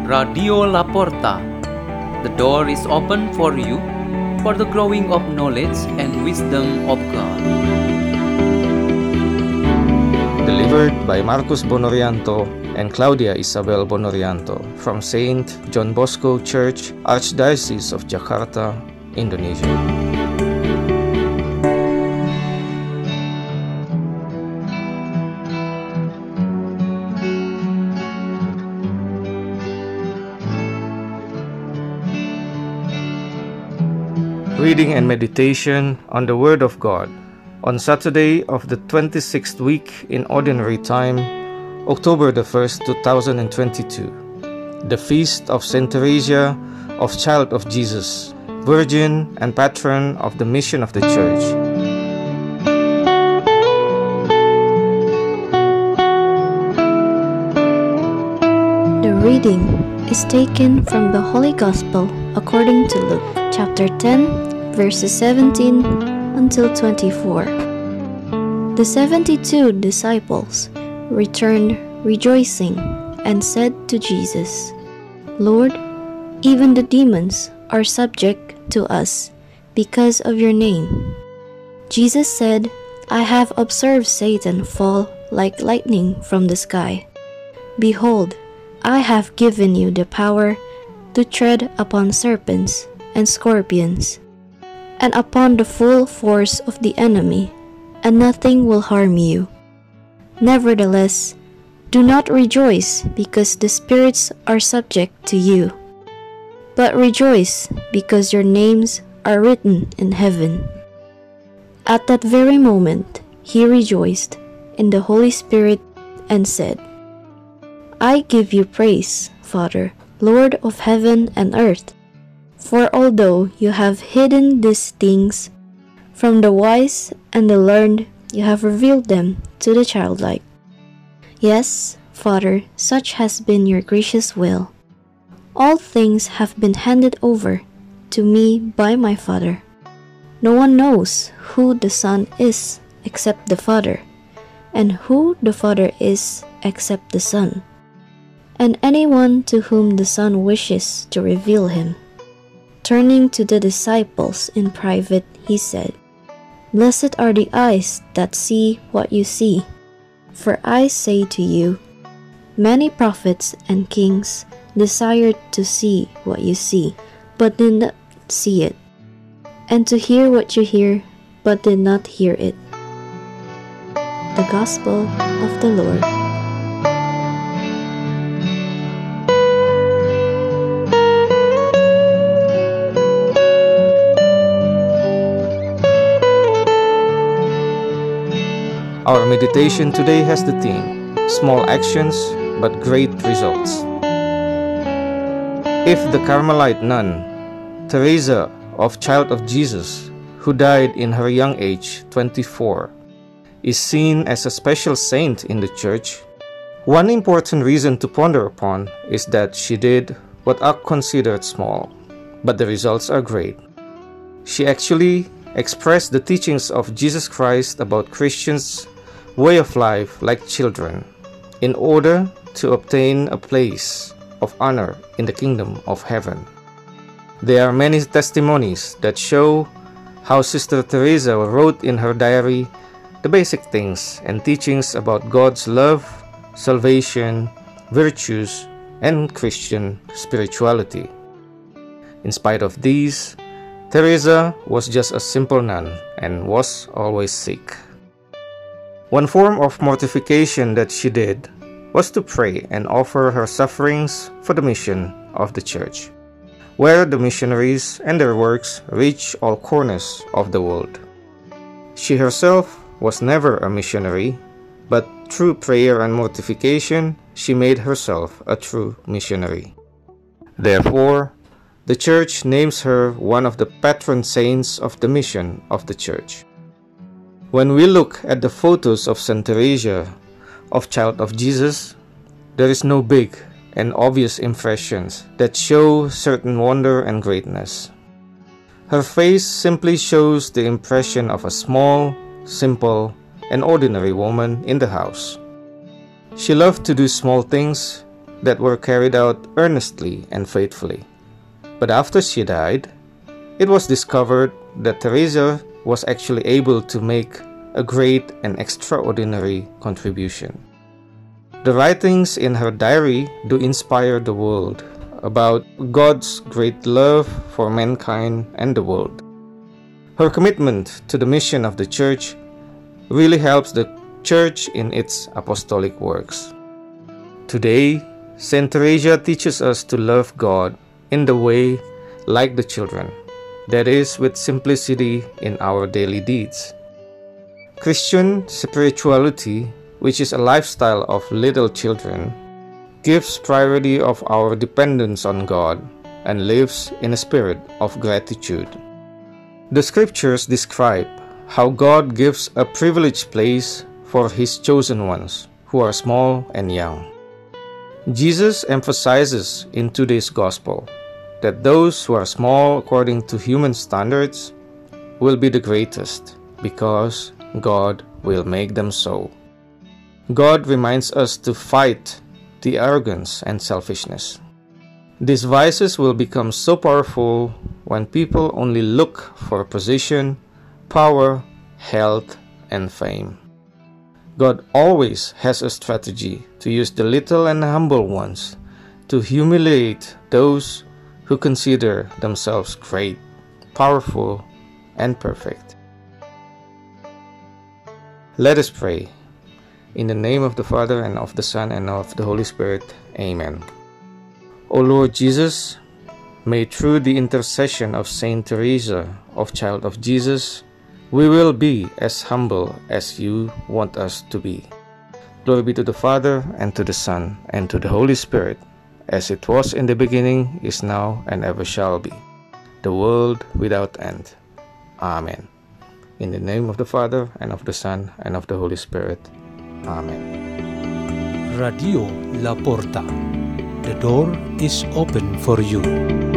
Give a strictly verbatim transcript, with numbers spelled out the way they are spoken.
Radio Laporta. The door is open for you for the growing of knowledge and wisdom of God. Delivered by Marcus Bonorianto and Claudia Isabel Bonorianto from Saint John Bosco Church, Archdiocese of Jakarta, Indonesia. Reading and meditation on the Word of God on Saturday of the twenty-sixth week in Ordinary Time, October the first, two thousand twenty-two. The Feast of Saint Teresa of Child of Jesus, Virgin and Patron of the Mission of the Church. The reading is taken from the Holy Gospel according to Luke, chapter ten, verses seventeen until twenty-four. The seventy-two disciples returned rejoicing and said to Jesus, "Lord, even the demons are subject to us because of your name." Jesus said, "I have observed Satan fall like lightning from the sky. Behold, I have given you the power to tread upon serpents and scorpions, and upon the full force of the enemy, and nothing will harm you. Nevertheless, do not rejoice because the spirits are subject to you, but rejoice because your names are written in heaven." At that very moment, he rejoiced in the Holy Spirit and said, "I give you praise, Father, Lord of heaven and earth, for although you have hidden these things from the wise and the learned, you have revealed them to the childlike. Yes, Father, such has been your gracious will. All things have been handed over to me by my Father. No one knows who the Son is except the Father, and who the Father is except the Son, and anyone to whom the Son wishes to reveal him." Turning to the disciples in private, he said, "Blessed are the eyes that see what you see. For I say to you, many prophets and kings desired to see what you see, but did not see it, and to hear what you hear, but did not hear it." The Gospel of the Lord. Our meditation today has the theme, Small Actions but Great Results. If the Carmelite nun, Teresa of Child of Jesus, who died in her young age, twenty-four, is seen as a special saint in the Church, one important reason to ponder upon is that she did what are considered small, but the results are great. She actually expressed the teachings of Jesus Christ about Christians' way of life like children, in order to obtain a place of honor in the kingdom of heaven. There are many testimonies that show how Sister Teresa wrote in her diary the basic things and teachings about God's love, salvation, virtues, and Christian spirituality. In spite of these, Teresa was just a simple nun and was always sick. One form of mortification that she did was to pray and offer her sufferings for the mission of the Church, where the missionaries and their works reach all corners of the world. She herself was never a missionary, but through prayer and mortification, she made herself a true missionary. Therefore, the Church names her one of the patron saints of the mission of the Church. When we look at the photos of Saint Teresa of Child of Jesus, there is no big and obvious impressions that show certain wonder and greatness. Her face simply shows the impression of a small, simple, and ordinary woman in the house. She loved to do small things that were carried out earnestly and faithfully. But after she died, it was discovered that Teresa was actually able to make a great and extraordinary contribution. The writings in her diary do inspire the world about God's great love for mankind and the world. Her commitment to the mission of the Church really helps the Church in its apostolic works. Today, Saint Teresa teaches us to love God in the way like the children, that is, with simplicity in our daily deeds. Christian spirituality, which is a lifestyle of little children, gives priority of our dependence on God and lives in a spirit of gratitude. The scriptures describe how God gives a privileged place for His chosen ones who are small and young. Jesus emphasizes in today's gospel that those who are small according to human standards will be the greatest because God will make them so. God reminds us to fight the arrogance and selfishness. These vices will become so powerful when people only look for position, power, health, and fame. God always has a strategy to use the little and humble ones to humiliate those who consider themselves great, powerful, and perfect. Let us pray. In the name of the Father, and of the Son, and of the Holy Spirit. Amen. O Lord Jesus, may through the intercession of Saint Teresa of Child of Jesus, we will be as humble as you want us to be. Glory be to the Father, and to the Son, and to the Holy Spirit, as it was in the beginning, is now, and ever shall be, the world without end. Amen. In the name of the Father, and of the Son, and of the Holy Spirit. Amen. Radio La Porta. The door is open for you.